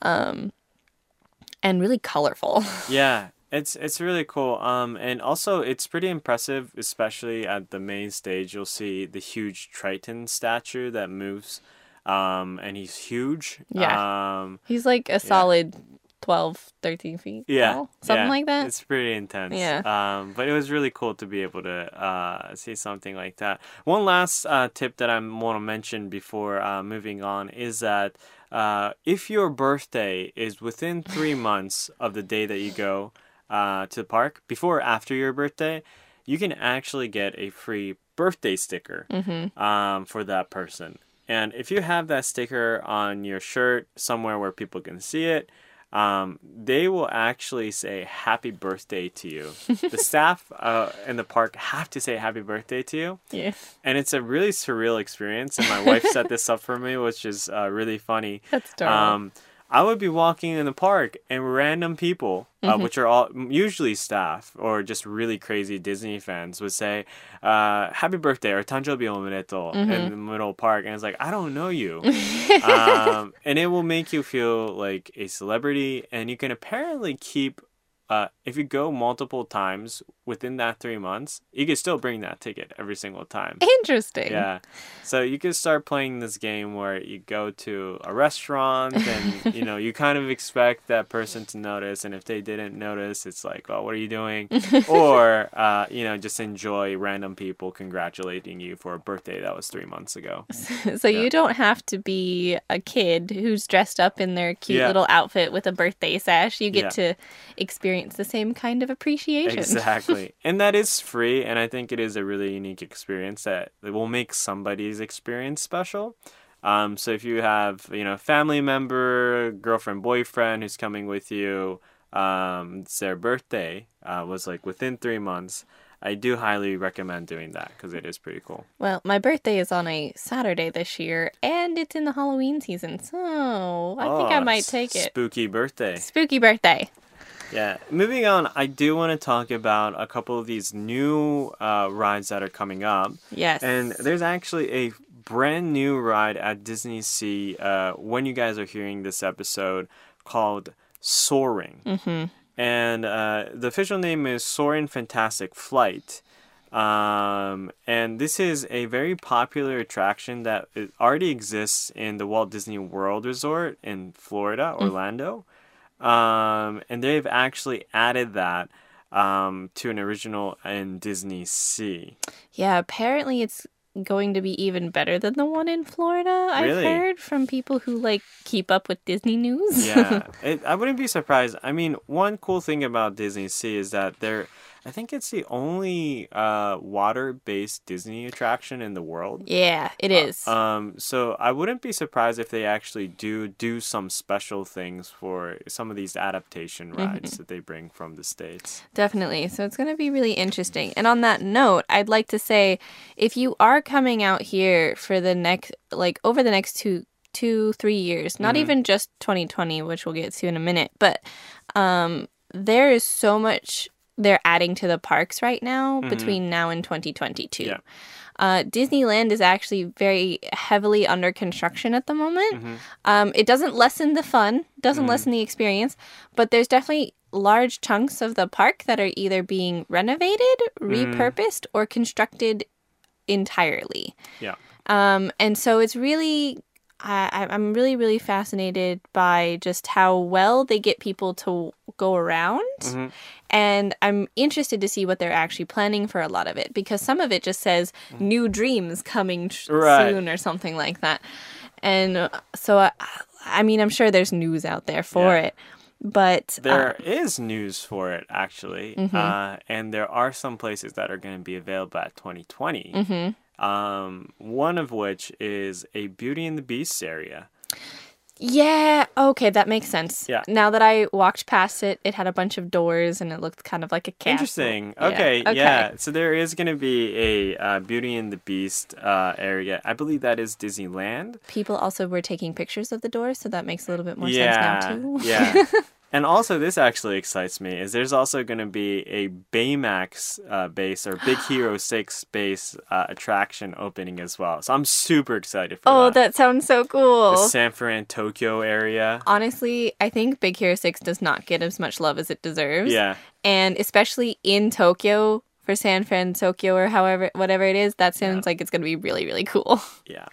and really colorful. Yeah. It's it's really cool. Um, and also it's pretty impressive, especially at the main stage. You'll see the huge Triton statue that moves, um, and he's huge. Yeah. Um, He's like a solid twelve, thirteen feet yeah, tall, something yeah. like that. It's pretty intense. Yeah. Um, but it was really cool to be able to uh, see something like that. One last uh, tip that I want to mention before uh, moving on is that uh, if your birthday is within three months of the day that you go uh, to the park, before or after your birthday, you can actually get a free birthday sticker um, for that person. And if you have that sticker on your shirt somewhere where people can see it, um, they will actually say happy birthday to you. The staff uh, in the park have to say happy birthday to you. Yeah. And it's a really surreal experience. And my wife set this up for me, which is uh, really funny. That's adorable. Um, I would be walking in the park and random people, uh, which are all usually staff or just really crazy Disney fans, would say, uh, happy birthday or tanjobi omedetou in the middle of the park. And it's like, I don't know you. um, and it will make you feel like a celebrity. And you can apparently keep uh, if you go multiple times within that three months, you can still bring that ticket every single time. Interesting. Yeah. So you can start playing this game where you go to a restaurant and, you know, you kind of expect that person to notice. And if they didn't notice, it's like, oh, what are you doing? Or, uh, you know, just enjoy random people congratulating you for a birthday that was three months ago. So yeah. You don't have to be a kid who's dressed up in their cute yeah. little outfit with a birthday sash. You get yeah. to experience the same kind of appreciation. Exactly. And that is free, and I think it is a really unique experience that will make somebody's experience special. Um, so if you have, you know, a family member, girlfriend, boyfriend who's coming with you, um, it's their birthday uh, was like within three months, I do highly recommend doing that because it is pretty cool. Well, my birthday is on a Saturday this year, and it's in the Halloween season, so I oh, think I might take it. Spooky birthday. Spooky birthday. Yeah. Moving on, I do want to talk about a couple of these new uh, rides that are coming up. Yes. And there's actually a brand new ride at Disney Sea uh, when you guys are hearing this episode called Soaring. Mm-hmm. And uh, the official name is Soarin' Fantastic Flight. Um, and this is a very popular attraction that already exists in the Walt Disney World Resort in Florida, Orlando. Mm-hmm. Um, and they've actually added that um, to an original in Disney Sea. Yeah, apparently it's going to be even better than the one in Florida. Really? I've heard from people who like keep up with Disney news. Yeah, it, I wouldn't be surprised. I mean, one cool thing about Disney Sea is that they're I think it's the only uh, water-based Disney attraction in the world. Yeah, it is. Uh, um, so I wouldn't be surprised if they actually do do some special things for some of these adaptation rides mm-hmm. that they bring from the States. Definitely. So it's going to be really interesting. And on that note, I'd like to say, if you are coming out here for the next, like over the next two, two, three years, not mm-hmm. even just twenty twenty, which we'll get to in a minute, but um, there is so much they're adding to the parks right now mm-hmm. between now and twenty twenty-two. Yeah. Uh, Disneyland is actually very heavily under construction at the moment. Mm-hmm. Um, it doesn't lessen the fun, doesn't mm-hmm. lessen the experience, but there's definitely large chunks of the park that are either being renovated, mm-hmm. repurposed, or constructed entirely. Yeah. Um, and so it's really... I, I'm really, really fascinated by just how well they get people to go around. Mm-hmm. And I'm interested to see what they're actually planning for a lot of it. Because some of it just says new dreams coming tr- right. soon or something like that. And uh, so, I, I mean, I'm sure there's news out there for yeah. it. But there uh, is news for it, actually. Mm-hmm. Uh, and there are some places that are going to be available at twenty twenty. Mm-hmm. Um, one of which is a Beauty and the Beast area. Yeah, okay, that makes sense. Yeah. Now that I walked past it, it had a bunch of doors and it looked kind of like a castle. Interesting. Yeah. Okay, okay, yeah. So there is going to be a uh, Beauty and the Beast uh, area. I believe that is Disneyland. People also were taking pictures of the doors, so that makes a little bit more yeah, sense now, too. Yeah. And also, this actually excites me, is there's also going to be a Baymax uh, base or Big Hero six base uh, attraction opening as well. So I'm super excited for oh, that. Oh, that sounds so cool. The San Fran, Tokyo area. Honestly, I think Big Hero six does not get as much love as it deserves. Yeah. And especially in Tokyo, for San Fran, Tokyo, or however, whatever it is, that sounds yeah. like it's going to be really, really cool. Yeah.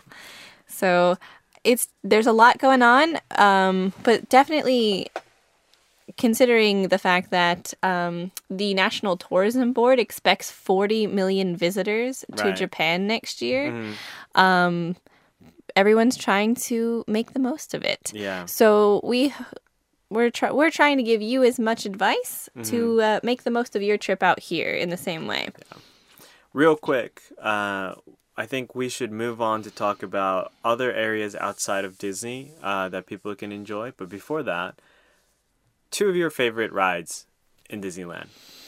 So it's there's a lot going on, um, but definitely... considering the fact that um, the National Tourism Board expects forty million visitors to right. Japan next year, mm-hmm. um, everyone's trying to make the most of it. Yeah. So we we're try- we're trying to give you as much advice mm-hmm. to uh, make the most of your trip out here in the same way. Yeah. Real quick, uh, I think we should move on to talk about other areas outside of Disney uh, that people can enjoy. But before that, two of your favorite rides in Disneyland.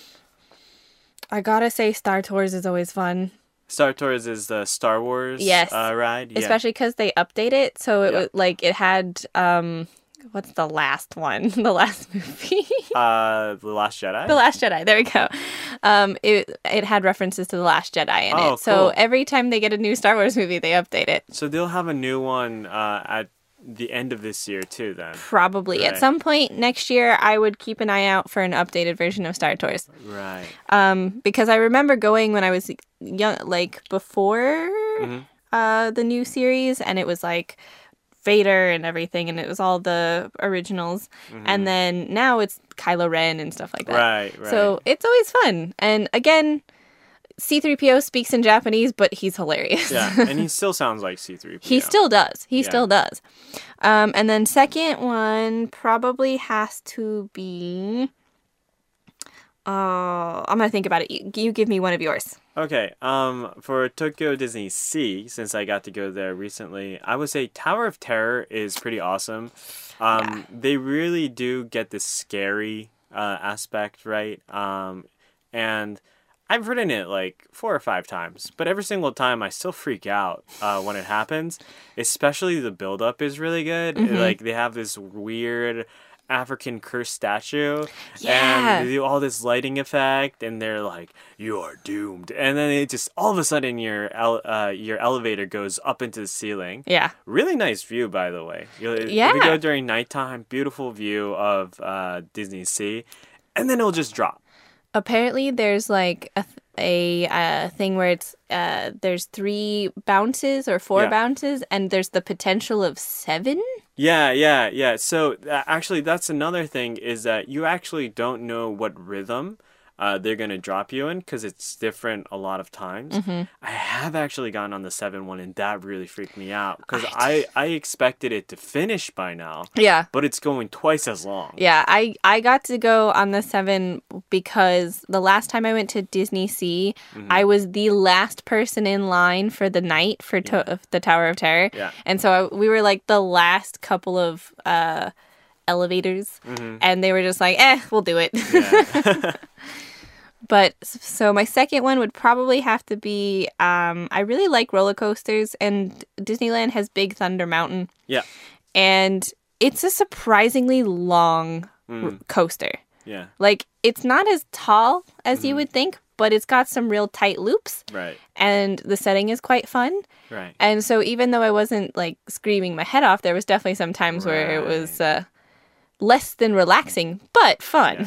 I gotta say, Star Tours is always fun. Star Tours is the Star Wars yes. uh, ride? Yeah. Especially because they update it. So it yeah. was like, it had, um, what's the last one? the last movie? uh, The Last Jedi? The Last Jedi, there we go. Um, it it had references to The Last Jedi in oh, it. So cool. every time they get a new Star Wars movie, they update it. So they'll have a new one uh, at the end of this year too. Then Probably. Right. At some point next year, I would keep an eye out for an updated version of Star Tours. right. Um, because I remember going when I was young, like before Mhm. uh, the new series, and it was like Vader and everything, and it was all the originals. And then now it's Kylo Ren and stuff like that. Right, right. So it's always fun. And again, C three P O speaks in Japanese, but he's hilarious. Yeah, and he still sounds like C three P O. He still does. He Yeah. still does. Um, and then second one probably has to be. Oh, I'm gonna think about it. You, you give me one of yours. Okay, um, for Tokyo Disney Sea, since I got to go there recently, I would say Tower of Terror is pretty awesome. Um, Yeah. They really do get the scary uh, aspect right, um, and I've ridden it like four or five times, but every single time I still freak out uh, when it happens. Especially the build-up is really good. Like they have this weird African curse statue, Yeah. and they do all this lighting effect, and they're like, "You are doomed," and then it just all of a sudden your ele- uh, your elevator goes up into the ceiling. Yeah. Really nice view, by the way. You- If Yeah. you go during nighttime, beautiful view of uh, Disney Sea, and then it'll just drop. Apparently, there's like a th- a uh, thing where it's uh, there's three bounces or four Yeah. bounces, and there's the potential of seven. Yeah, yeah, yeah. So uh, actually, that's another thing is that you actually don't know what rhythm uh, they're gonna drop you in because it's different a lot of times. Mm-hmm. I have actually gone on the seven one, and that really freaked me out because I, I expected it to finish by now, Yeah. but it's going twice as long. Yeah, I, I got to go on the seven because the last time I went to Disney Sea, Mm-hmm. I was the last person in line for the night for to- of the Tower of Terror. Yeah. And so I, we were like the last couple of uh, elevators, and they were just like, eh, we'll do it. Mm-hmm. Yeah. But so my second one would probably have to be um, I really like roller coasters, and Disneyland has Big Thunder Mountain, Yeah. and it's a surprisingly long Mm. r- coaster. Yeah. Like, it's not as tall as you would think, but it's got some real tight loops, Right. and the setting is quite fun. Right. And so even though I wasn't like screaming my head off, there was definitely some times where it was uh, less than relaxing, but fun.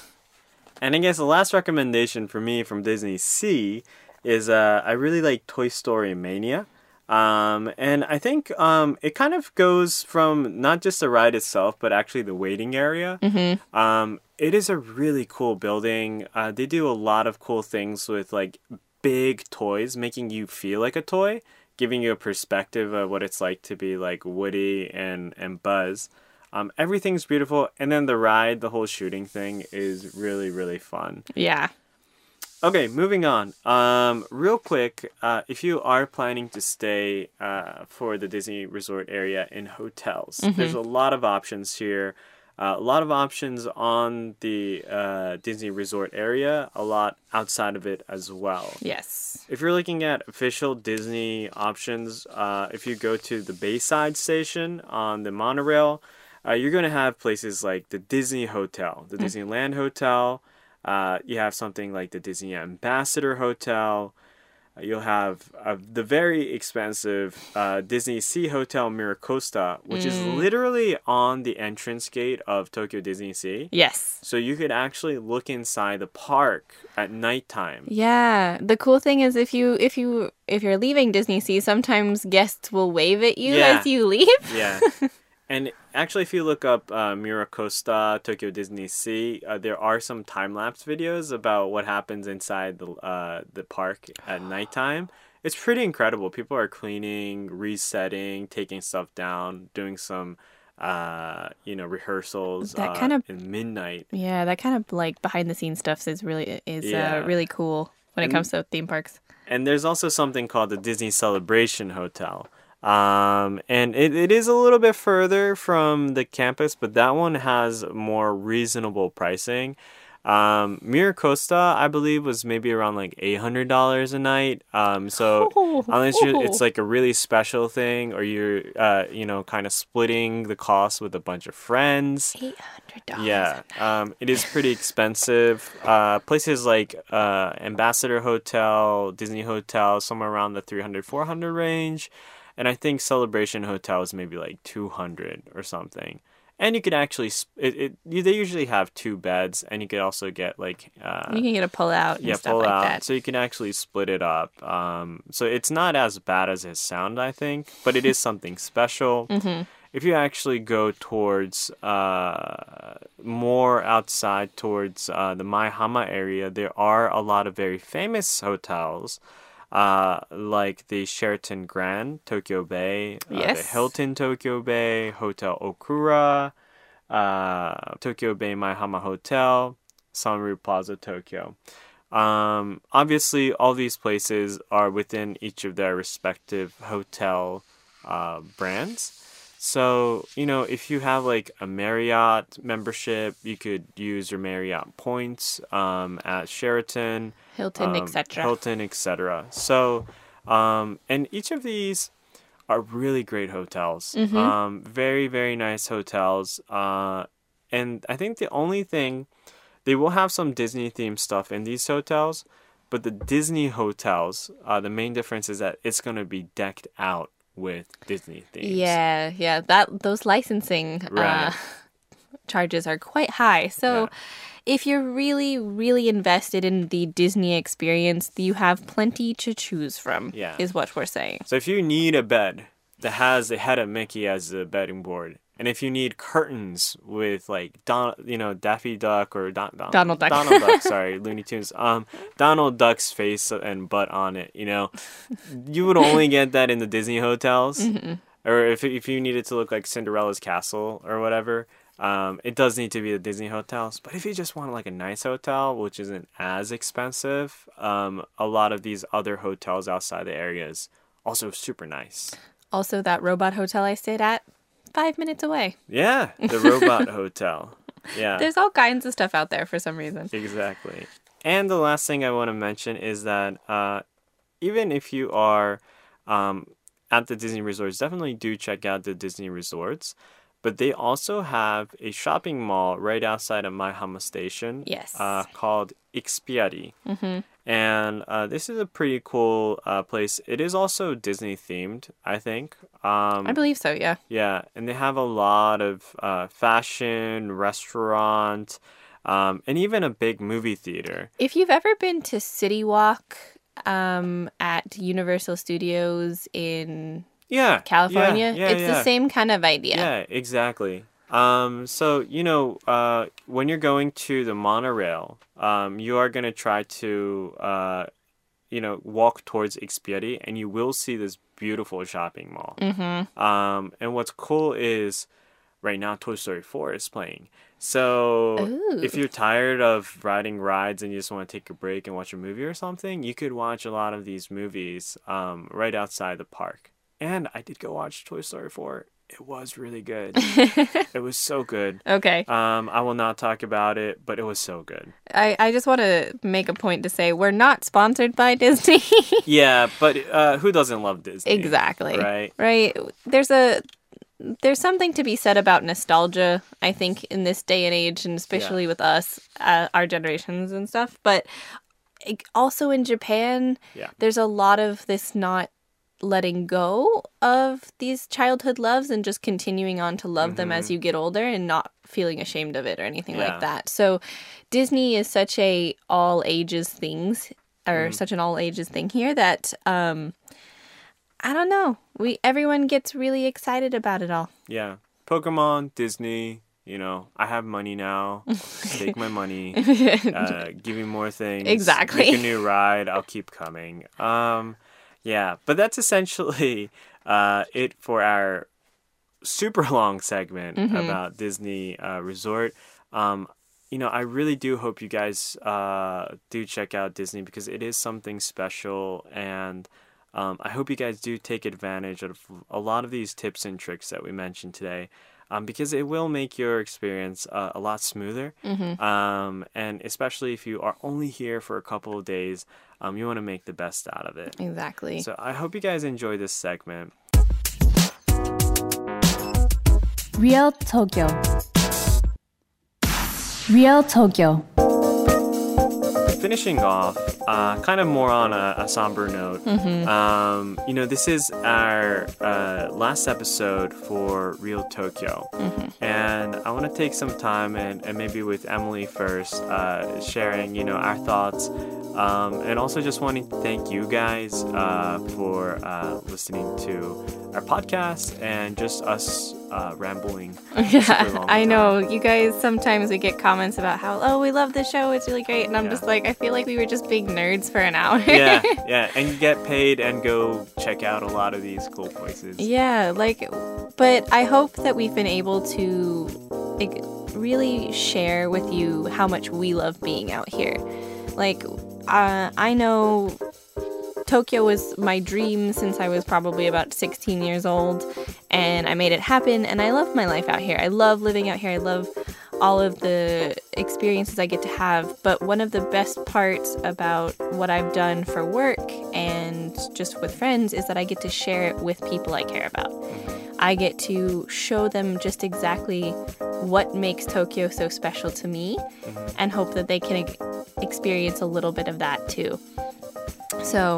And I guess the last recommendation for me from Disney Sea is uh, I really like Toy Story Mania. Um, and I think um, it kind of goes from not just the ride itself, but actually the waiting area. Mm-hmm. Um, it is a really cool building. Uh, they do a lot of cool things with like big toys, making you feel like a toy, giving you a perspective of what it's like to be like Woody and, and Buzz. Um, everything's beautiful, and then the ride, the whole shooting thing is really, really fun. Yeah. Okay, moving on. Um, real quick, uh, if you are planning to stay uh, for the Disney Resort area in hotels, there's a lot of options here. Uh, a lot of options on the uh, Disney Resort area, a lot outside of it as well. Yes. If you're looking at official Disney options, uh, if you go to the Bayside Station on the monorail, uh, you're going to have places like the Disney Hotel, the Disneyland Hotel. Uh, you have something like the Disney Ambassador Hotel. Uh, you'll have uh, the very expensive uh, Disney Sea Hotel Miracosta, which is literally on the entrance gate of Tokyo Disney Sea. Yes. So you could actually look inside the park at nighttime. Yeah. The cool thing is if you if you if you're leaving Disney Sea, sometimes guests will wave at you Yeah. as you leave. Yeah. And actually, if you look up uh, Miracosta, Tokyo Disney Sea, uh, there are some time-lapse videos about what happens inside the uh, the park at nighttime. It's pretty incredible. People are cleaning, resetting, taking stuff down, doing some, uh, you know, rehearsals That uh, kind of- in midnight. Yeah, that kind of like behind the scenes stuff is really is Yeah. uh, really cool when it comes to theme parks. And there's also something called the Disney Celebration Hotel. Um, and it, it is a little bit further from the campus, but that one has more reasonable pricing. Um, Miracosta, I believe, was maybe around like eight hundred dollars a night. Um, so unless you it's like a really special thing, or you're, uh, you know, kind of splitting the cost with a bunch of friends. Eight hundred dollars. Yeah, um, it is pretty expensive. Uh, places like uh, Ambassador Hotel, Disney Hotel, somewhere around the three hundred, four hundred range. And I think Celebration Hotel is maybe like two hundred or something. And you could actually, it, it you, they usually have two beds, and you could also get like... Uh, you can get a pull-out and yeah, stuff pull like out. that. So you can actually split it up. Um, so it's not as bad as it sounds, I think, but it is something special. Mm-hmm. If you actually go towards uh, more outside towards uh, the Maihama area, there are a lot of very famous hotels, uh, like the Sheraton Grand Tokyo Bay, uh, Yes. the Hilton Tokyo Bay, Hotel Okura, uh, Tokyo Bay Maihama Hotel, Sunryu Plaza Tokyo. Um, obviously, all these places are within each of their respective hotel uh, brands. So, you know, if you have like a Marriott membership, you could use your Marriott points um, at Sheraton, Hilton, um, et cetera. Hilton, et cetera. So, um, and each of these are really great hotels. Mm-hmm. Um, very, very nice hotels. Uh, and I think the only thing, they will have some Disney themed stuff in these hotels, but the Disney hotels, uh, the main difference is that it's going to be decked out with Disney themes. Yeah, yeah. That those licensing Right. uh, charges are quite high. So Yeah. if you're really, really invested in the Disney experience, you have plenty to choose from, Yeah. is what we're saying. So if you need a bed that has the head of Mickey as the bedding board, and if you need curtains with like Don, you know, Daffy Duck or Don, Don, Donald Duck. Donald Duck, sorry, Looney Tunes, um, Donald Duck's face and butt on it, you know, you would only get that in the Disney hotels, Mm-hmm. or if if you need it to look like Cinderella's castle or whatever. Um, it does need to be the Disney hotels, but if you just want like a nice hotel, which isn't as expensive, um, a lot of these other hotels outside the area is also super nice. Also, that robot hotel I stayed at, five minutes away. Yeah, the Robot Hotel. Yeah, There's all kinds of stuff out there for some reason. exactly. And the last thing I want to mention is that uh, even if you are um, at the Disney resorts, definitely do check out the Disney resorts. But they also have a shopping mall right outside of Maihama Station. Yes. Uh, called Ikspiari. Mm-hmm. And uh, this is a pretty cool uh, place. It is also Disney themed, I think. Um, I believe so, yeah. Yeah, and they have a lot of uh, fashion, restaurant, um, and even a big movie theater. If you've ever been to City Walk um, at Universal Studios in Yeah, California, yeah, yeah, it's yeah. the same kind of idea. Yeah, exactly. Um, so, you know, uh, when you're going to the monorail, um, you are going to try to, uh, you know, walk towards Ikspiari, and you will see this beautiful shopping mall. Mm-hmm. Um, and what's cool is right now Toy Story four is playing. So Ooh. if you're tired of riding rides and you just want to take a break and watch a movie or something, you could watch a lot of these movies um, right outside the park. And I did go watch Toy Story four. It was really good. It was so good. Okay. Um, I will not talk about it, but it was so good. I, I just want to make a point to say we're not sponsored by Disney. Yeah, but uh, who doesn't love Disney? Exactly. Right? Right. There's a there's something to be said about nostalgia, I think, in this day and age, and especially Yeah. with us, uh, our generations and stuff. But it, also in Japan, Yeah. there's a lot of this not letting go of these childhood loves and just continuing on to love them as you get older and not feeling ashamed of it or anything Yeah. like that. So Disney is such a all ages things or such an all ages thing here that um I don't know. We everyone gets really excited about it all. Yeah. Pokemon, Disney, you know, I have money now. Take my money. Uh, give me more things. Exactly. Make a new ride. I'll keep coming. Um, yeah, but that's essentially uh, it for our super long segment about Disney uh, Resort. Um, you know, I really do hope you guys uh, do check out Disney because it is something special, and um, I hope you guys do take advantage of a lot of these tips and tricks that we mentioned today. Um, because it will make your experience uh, a lot smoother. Um, and especially if you are only here for a couple of days, um, you want to make the best out of it. Exactly. So I hope you guys enjoy this segment. Real Tokyo. Real Tokyo. The finishing off, uh, kind of more on a, a somber note, Mm-hmm. um, you know, this is our uh, last episode for Real Tokyo. Mm-hmm. And I want to take some time and, and maybe with Emily first, uh, sharing, you know, our thoughts. Um, and also just wanting to thank you guys uh, for uh, listening to our podcast and just us uh, rambling. super Yeah, long I time. know. You guys, sometimes we get comments about how, oh, we love the show. It's really great. And I'm Yeah. just like, I feel like we were just big nerds for an hour. yeah, yeah, and you get paid and go check out a lot of these cool places. Yeah, like, but I hope that we've been able to like, really share with you how much we love being out here. Like, uh, I know Tokyo was my dream since I was probably about sixteen years old, and I made it happen, and I love my life out here. I love living out here. I love all of the experiences I get to have, but one of the best parts about what I've done for work and just with friends is that I get to share it with people I care about. I get to show them just exactly what makes Tokyo so special to me, and hope that they can e- experience a little bit of that too. So,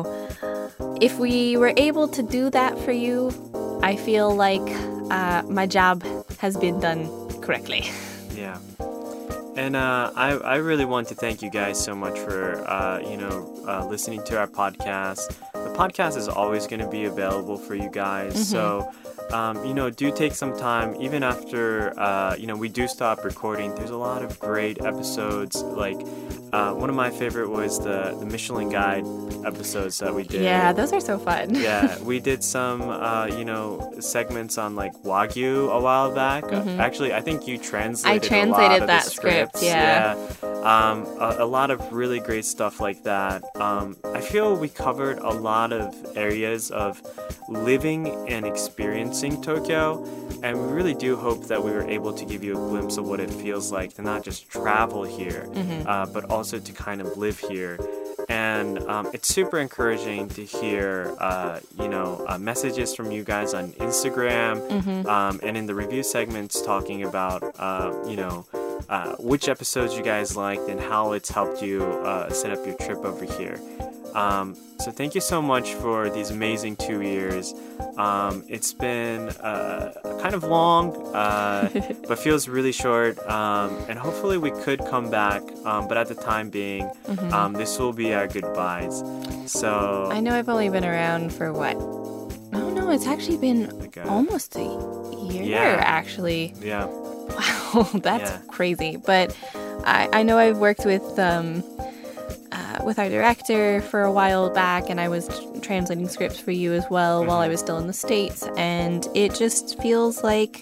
if we were able to do that for you, I feel like uh, my job has been done correctly. Yeah. And uh, I, I really want to thank you guys so much for, uh, you know, uh, listening to our podcast. The podcast is always going to be available for you guys. Mm-hmm. So, um, you know, do take some time. Even after, uh, you know, we do stop recording, there's a lot of great episodes. Like, uh, one of my favorite was the, the Michelin Guide episodes that we did. Yeah, those are so fun. Yeah, we did some, uh, you know, segments on like Wagyu a while back. Mhm. Uh, actually, I think you translated. I translated a lot of that the script, scripts. yeah. Um, a, a lot of really great stuff like that. Um, I feel we covered a lot of areas of living and experiencing Tokyo, and we really do hope that we were able to give you a glimpse of what it feels like to not just travel here, Mhm. uh, but also to kind of live here. And um, it's super encouraging to hear, uh, you know, uh, messages from you guys on Instagram Mhm. um, and in the review segments talking about, uh, you know, uh, which episodes you guys liked and how it's helped you uh, set up your trip over here. Um, so thank you so much for these amazing two years. Um, it's been uh, kind of long, uh, but feels really short. Um, and hopefully we could come back. Um, but at the time being, Mhm. um, this will be our goodbyes. So I know I've only been around for what? Oh no, it's actually been like, uh, almost a year, Yeah. actually. yeah, Wow, that's Yeah. crazy. But I, I know I've worked with um, uh, with our director for a while back, and I was tr- translating scripts for you as well while I was still in the States. And it just feels like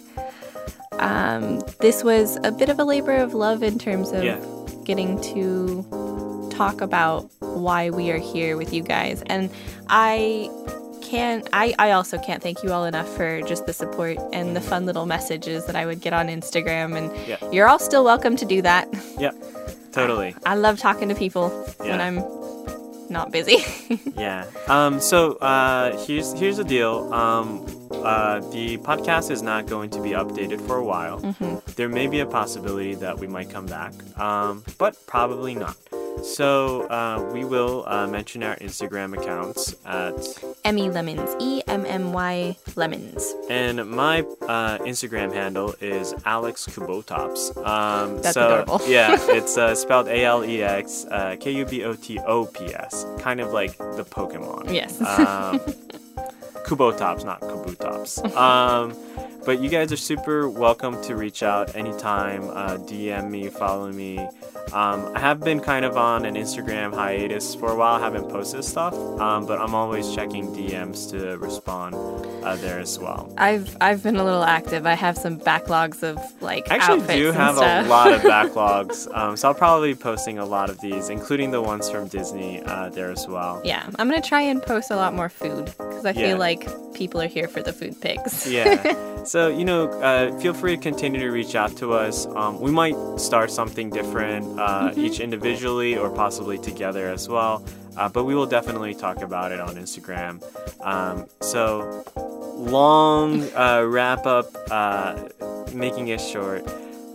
um, this was a bit of a labor of love in terms of Yeah. getting to talk about why we are here with you guys. And I can't I, I also can't thank you all enough for just the support and the fun little messages that I would get on Instagram, and Yeah. you're all still welcome to do that. yeah, totally. I love talking to people when Yeah. I'm not busy. Yeah. Um, so uh, here's here's the deal. Um, uh, the podcast is not going to be updated for a while. Mhm. There may be a possibility that we might come back, um, but probably not. So uh, we will uh, mention our Instagram accounts at, Emmy Lemons, E M M Y Lemons. and my uh, Instagram handle is Alex Kubotops. Um, That's so, adorable. Yeah, it's uh, spelled A L E X uh, K U B O T O P S, kind of like the Pokemon. Yes. Um, Kubotops, not Kabutops. Um, but you guys are super welcome to reach out anytime. Uh, D M me, follow me. Um, I have been kind of on an Instagram hiatus for a while. I haven't posted stuff, um, but I'm always checking D Ms to respond uh, there as well. I've I've been a little active. I have some backlogs of like I actually outfits do and have stuff. a lot of backlogs, um, so I'll probably be posting a lot of these, including the ones from Disney uh, there as well. Yeah, I'm gonna try and post a lot more food because I Yeah. feel like people are here for the food pics. Yeah. So, you know, uh, feel free to continue to reach out to us. Um, we might start something different, uh, each individually or possibly together as well. Uh, but we will definitely talk about it on Instagram. Um, so, long uh, wrap up, uh, making it short.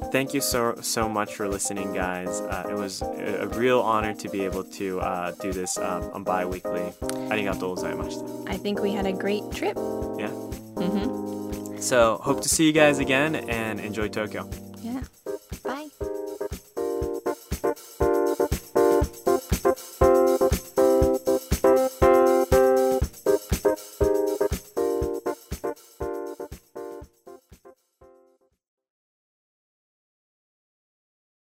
thank you so so much for listening, guys. Uh, it was a, a real honor to be able to uh, do this um, on bi-weekly. ありがとうございました。 I think we had a great trip. Yeah. Mm-hmm. So hope to see you guys again and enjoy Tokyo. Yeah.